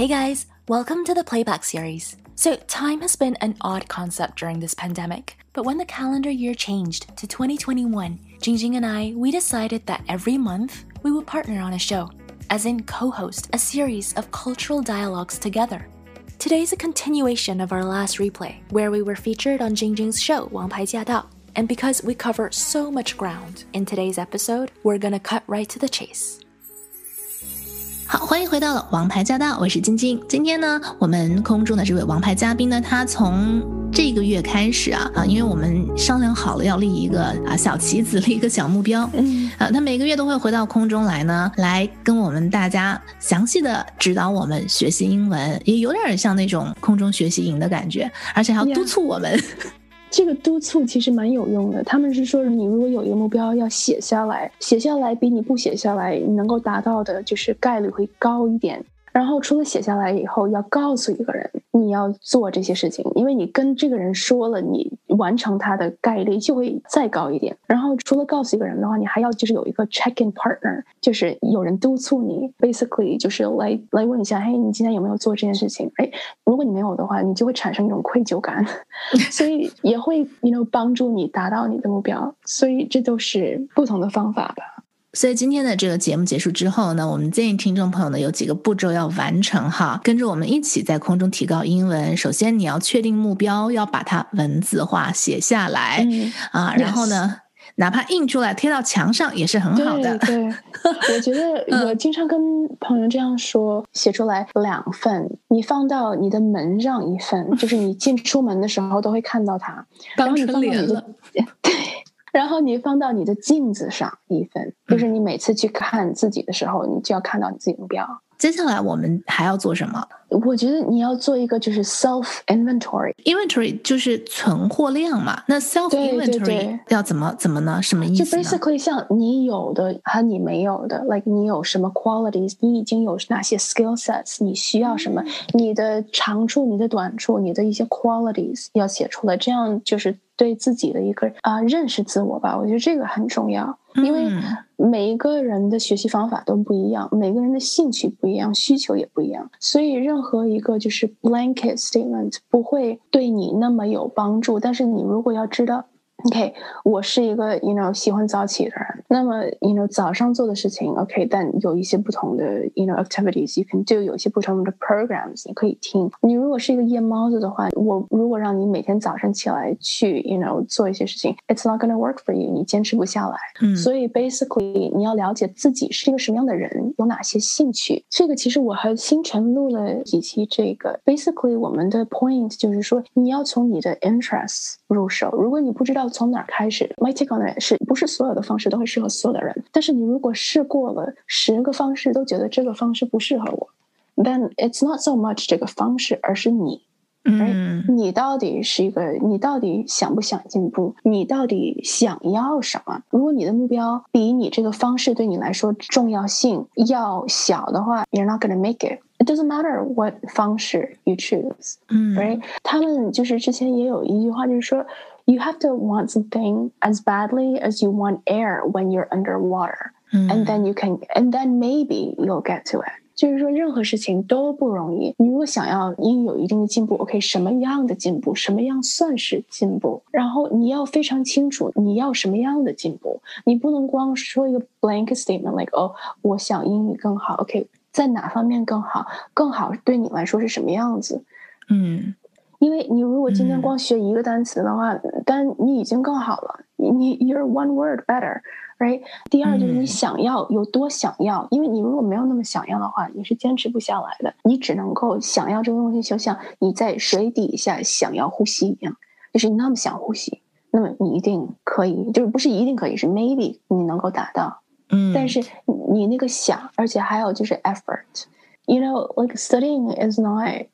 Hey guys, welcome to the Playback series. So time has been an odd concept during this pandemic, but when the calendar year changed to 2021, Jingjing and we decided that every month we would partner on a show, as in co-host a series of cultural dialogues together. Today's a continuation of our last replay, where we were featured on Jingjing's show 王牌驾到. And because we cover so much ground in today's episode, we're gonna cut right to the chase. 好，欢迎回到了王牌驾到，我是晶晶。今天呢，我们空中的这位王牌嘉宾呢，他从这个月开始因为我们商量好了要立一个小棋子，立一个小目标。他每个月都会回到空中来呢，来跟我们大家详细的指导我们学习英文，也有点像那种空中学习营的感觉，而且还要督促我们。 这个督促其实蛮有用的，他们是说你如果有一个目标要写下来，写下来比你不写下来你能够达到的就是概率会高一点。然后除了写下来以后要告诉一个人你要做这些事情，因为你跟这个人说了，你完成它的概率就会再高一点。然后除了告诉一个人的话，你还要就是有一个 check-in partner， 就是有人督促你 basically 就是来问一下，嘿，你今天有没有做这件事情。如果你没有的话，你就会产生一种愧疚感所以也会帮助你达到你的目标，所以这都是不同的方法吧。 所以今天的这个节目结束之后呢，我们建议听众朋友呢有几个步骤要完成哈，跟着我们一起在空中提高英文。首先你要确定目标，要把它文字化写下来然后呢哪怕印出来贴到墙上也是很好的。 对我觉得我经常跟朋友这样说，写出来2份，你放到你的门上1份，就是你进出门的时候都会看到它， 当春联了。 对，然后你放到你的镜子上1份，就是你每次去看自己的时候，你就要看到你自己的目标。 接下来我们还要做什么？ 我觉得你要做一个就是 self inventory 就是存货量嘛。那 self inventory 要怎么呢？什么意思呢？ 就 basically 像你有的和你没有的 like 你有什么 qualities， 你已经有哪些 skill sets， 你需要什么，你的长处你的短处，你的一些 qualities 要写出来，这样就是对自己的一个认识自我吧。我觉得这个很重要，因为每一个人的学习方法都不一样，每个人的兴趣不一样，需求也不一样，所以任何一个就是 blanket statement 不会对你那么有帮助。但是你如果要知道OK， 我是一个喜欢早起的人，那么早上做的事情 OK， 但有一些不同的activities you can do， 有一些不同的 programs 你可以听。你如果是一个夜猫子的话，我如果让你每天早上起来去做一些事情 it's not gonna work for you， 你坚持不下来。所以 basically 你要了解自己是一个什么样的人，有哪些兴趣。这个其实我和星辰录了几期，这个 basically 我们的 point 就是说你要从你的 interests 入手。如果你不知道从哪儿开始 my take on it 是不是所有的方式都会适合所有的人，但是你如果试过了10个方式都觉得这个方式不适合我， then it's not so much 这个方式，而是你你到底想不想进步，你到底想要什么。如果你的目标比你这个方式对你来说重要性要小的话， you're not gonna make it doesn't matter what 方式 you choose right。 他们就是之前也有一句话，就是说You have to want something as badly as you want air when you're underwater. And then maybe you'll get to it. 就是说任何事情都不容易，你如果想要有一定的进步 OK， 什么样的进步，什么样算是进步，然后你要非常清楚你要什么样的进步。你不能光说一个 blanket statement like 我想英语更好 OK， 在哪方面更好对你来说是什么样子。因为你如果今天光学一个单词的话，但你已经更好了，you're one word better right。 第二就是你想要有多想要，因为你如果没有那么想要的话，你是坚持不下来的。你只能够想要这个东西，就像你在水底下想要呼吸一样，就是你那么想呼吸，那么你一定可以，就是不是一定可以，是 maybe 你能够达到。但是你那个想，而且还有就是 effort like studying is not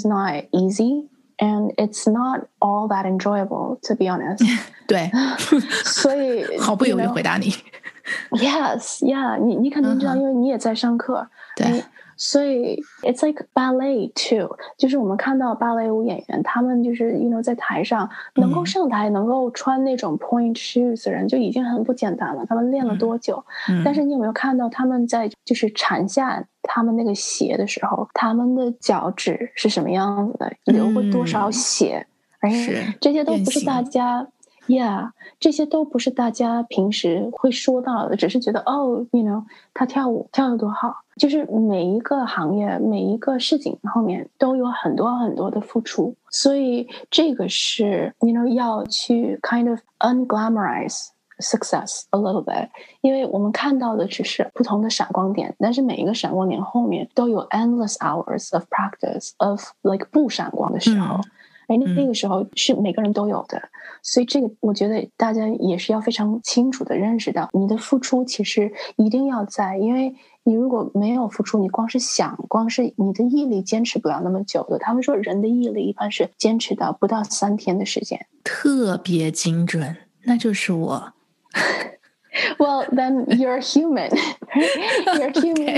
easy。And it's not all that enjoyable, to be honest. 对， 所以毫不犹豫回答你。 Yes, yeah， 你肯定知道，因为你也在上课。 对， 所以 it's like ballet too， 就是我们看到芭蕾舞演员，他们就是在台上能够上台，能够穿那种 point shoes 的人就已经很不简单了。他们练了多久？但是你有没有看到他们在就是铲下他们那个鞋的时候，他们的脚趾是什么样子的，流过多少血？这些都不是大家。Yeah， 这些都不是大家平时会说到的，只是觉得他跳舞跳得多好。就是每一个行业每一个事情后面都有很多很多的付出，所以这个是要去 kind of unglamorize success a little bit， 因为我们看到的只是不同的闪光点，但是每一个闪光点后面都有 endless hours of practice of like 不闪光的时候。那个时候是每个人都有的，所以这个我觉得大家也是要非常清楚的认识到，你的付出其实一定要在，因为你如果没有付出，你光是你的毅力坚持不了那么久的。他们说人的毅力一般是坚持到不到3天的时间。 特别精准，那就是我。 Well, then you're human. You're human.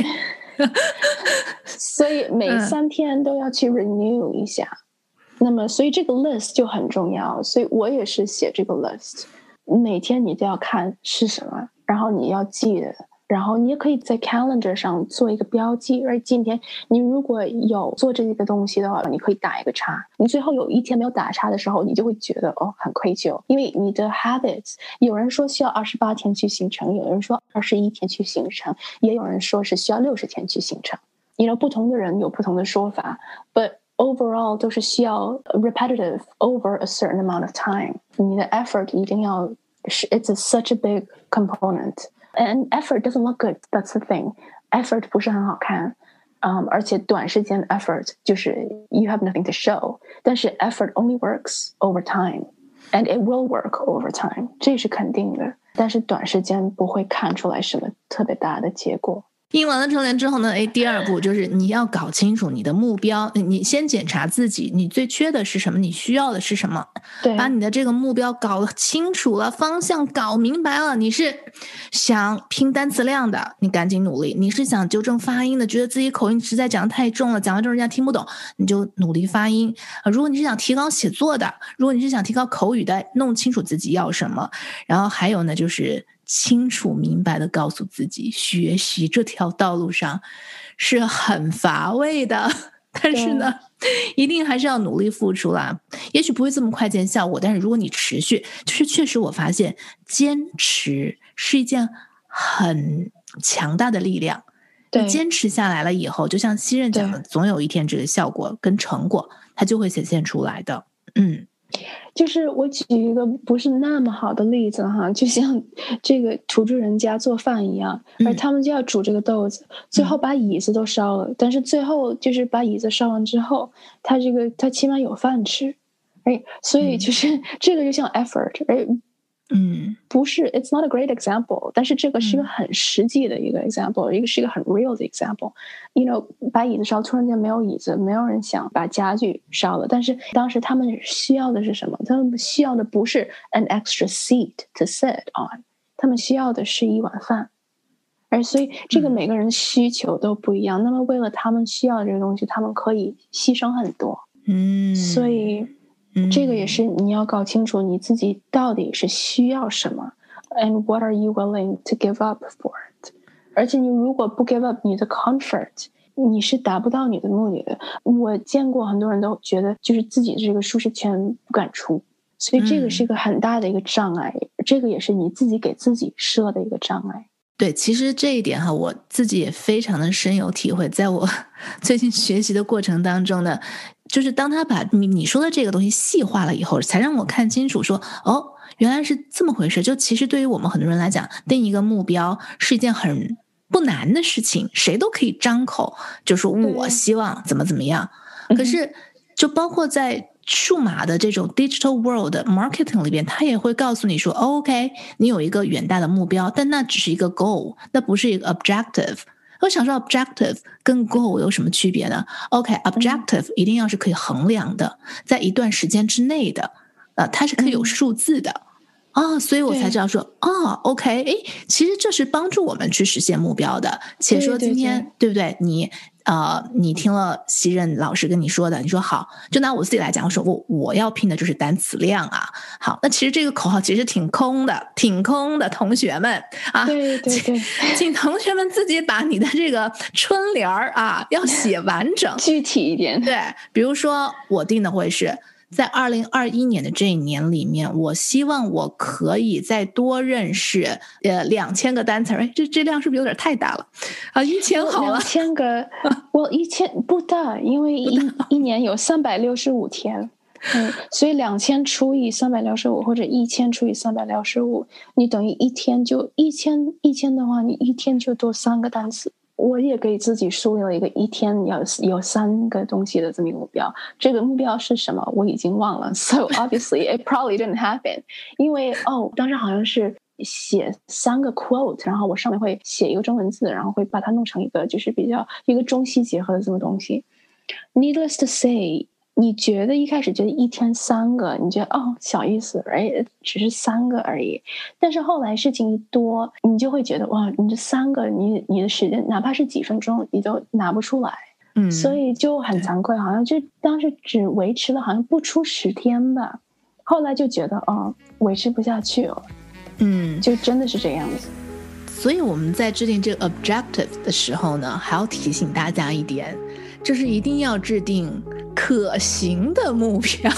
所以每3天都要去 renew 一下。那么所以这个 list 就很重要，所以我也是写这个 list， 每天你都要看是什么，然后你要记得，然后你也可以在 calendar 上做一个标记，而今天你如果有做这个东西的话，你可以打一个叉，你最后有一天没有打叉的时候，你就会觉得很愧疚，因为你的 habits， 有人说需要28天去形成，有人说21天去形成，也有人说是需要60天去形成，不同的人有不同的说法 ，but overall 都是需要 repetitive over a certain amount of time， 你的 effort 一定要it's such a big component and effort doesn't look good, that's the thing， effort 不是很好看，而且短时间 effort 就是 you have nothing to show， 但是 effort only works over time and it will work over time， 这是肯定的，但是短时间不会看出来什么特别大的结果。 印完了春联之后呢，第二步就是你要搞清楚你的目标，你先检查自己，你最缺的是什么，你需要的是什么，把你的这个目标搞清楚了，方向搞明白了，你是想拼单词量的，你赶紧努力，你是想纠正发音的，觉得自己口音实在讲得太重了，讲到这人家听不懂，你就努力发音，如果你是想提高写作的，如果你是想提高口语的，弄清楚自己要什么，然后还有呢就是清楚明白的告诉自己，学习这条道路上是很乏味的，但是呢一定还是要努力付出啦，也许不会这么快见效果，但是如果你持续，就是确实我发现坚持是一件很强大的力量，你坚持下来了以后，就像西任讲的，总有一天这个效果跟成果它就会显现出来的。 就是我举一个不是那么好的例子哈，就像这个土著人家做饭一样，而他们就要煮这个豆子，最后把椅子都烧了，但是最后就是把椅子烧完之后，他起码有饭吃，所以就是这个就像 effort，不是 it's not a great example， 但是这个是一个很实际的一个 example， 一个是一个很 real 的 example。把椅子烧，突然间没有椅子，没有人想把家具烧了，但是当时他们需要的是什么？他们需要的不是 an extra seat to sit on， 他们需要的是一碗饭。所以这个每个人需求都不一样，那么为了他们需要的这个东西，他们可以牺牲很多。所以这个也是你要搞清楚你自己到底是需要什么 and what are you willing to give up for it， 而且你如果不 give up 你的 comfort， 你是达不到你的目的的。我见过很多人都觉得就是自己这个舒适圈不敢出，所以这个是一个很大的一个障碍，这个也是你自己给自己设的一个障碍。 对，其实这一点我自己也非常的深有体会，在我最近学习的过程当中呢，就是当他把你说的这个东西细化了以后，才让我看清楚说原来是这么回事。就其实对于我们很多人来讲，定一个目标是一件很不难的事情，谁都可以张口就说我希望怎么怎么样，可是就包括在数码的这种 digital world marketing 里边，他也会告诉你说OK， 你有一个远大的目标，但那只是一个 goal， 那不是一个 objective。我想说 objective 跟 goal 有什么区别呢？ objective 一定要是可以衡量的，在一段时间之内的，它是可以有数字的所以我才知道说OK， 其实这是帮助我们去实现目标的。且说今天 对不对，你听了西任老师跟你说的，你说好，就拿我自己来讲，我说我要拼的就是单词量啊。好，那其实这个口号其实挺空的，同学们啊， 对， 请同学们自己把你的这个春联啊要写完整， 具体一点。 对，比如说我定的会是在2021年的这一年里面，我希望我可以再多认识2000个单词。这量是不是有点太大了啊？1000好了 ，2000个，我1000不大，因为一年有365天，所以2000除以365或者1000除以365，你等于一天就1000的话，你一天就多3个单词。我也给自己树立了一个一天要有3个东西的这么一个目标。这个目标是什么？我已经忘了。So obviously it probably didn't happen. 因为当时好像是写3个 quote， 然后我上面会写一个中文字，然后会把它弄成一个就是比较一个中西结合的这么东西。Needless to say， 你觉得一开始觉得一天3个，你觉得小意思 ，right？ 只是3个而已。但是后来事情一多，你就会觉得哇，你这3个，你的时间哪怕是几分钟，你都拿不出来。所以就很惭愧，好像就当时只维持了好像不出10天吧。后来就觉得维持不下去了。就真的是这样子。 所以我们在制定这个 objective 的时候呢，还要提醒大家一点，就是一定要制定可行的目标。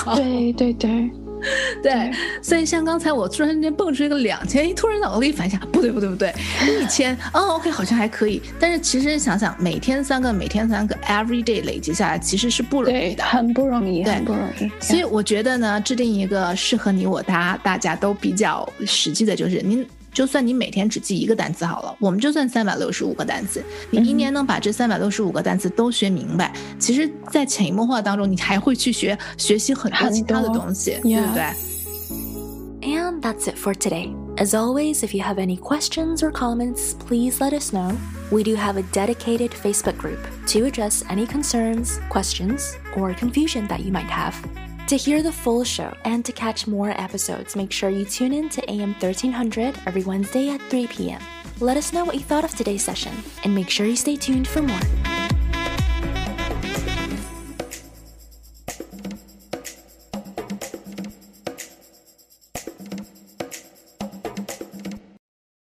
对，所以像刚才我突然间蹦出一个2000，突然脑子里反想，不对，1000OK 好像还可以，但是其实想想每天3个 every day 累积下来其实是不容易的， 很不容易。 所以我觉得呢，制定一个适合你我大家都比较实际的，就是就算你每天只记1个单词好了，我们就算365个单词，你一年能把这365个单词都学明白，其实在潜移默化当中你还会去学习很多其他的东西，对不对？ And that's it for today. As always, if you have any questions or comments, please let us know. We do have a dedicated Facebook group to address any concerns, questions, or confusion that you might have. To hear the full show and to catch more episodes, make sure you tune in to AM 1300 every Wednesday at 3 p.m. Let us know what you thought of today's session, and make sure you stay tuned for more.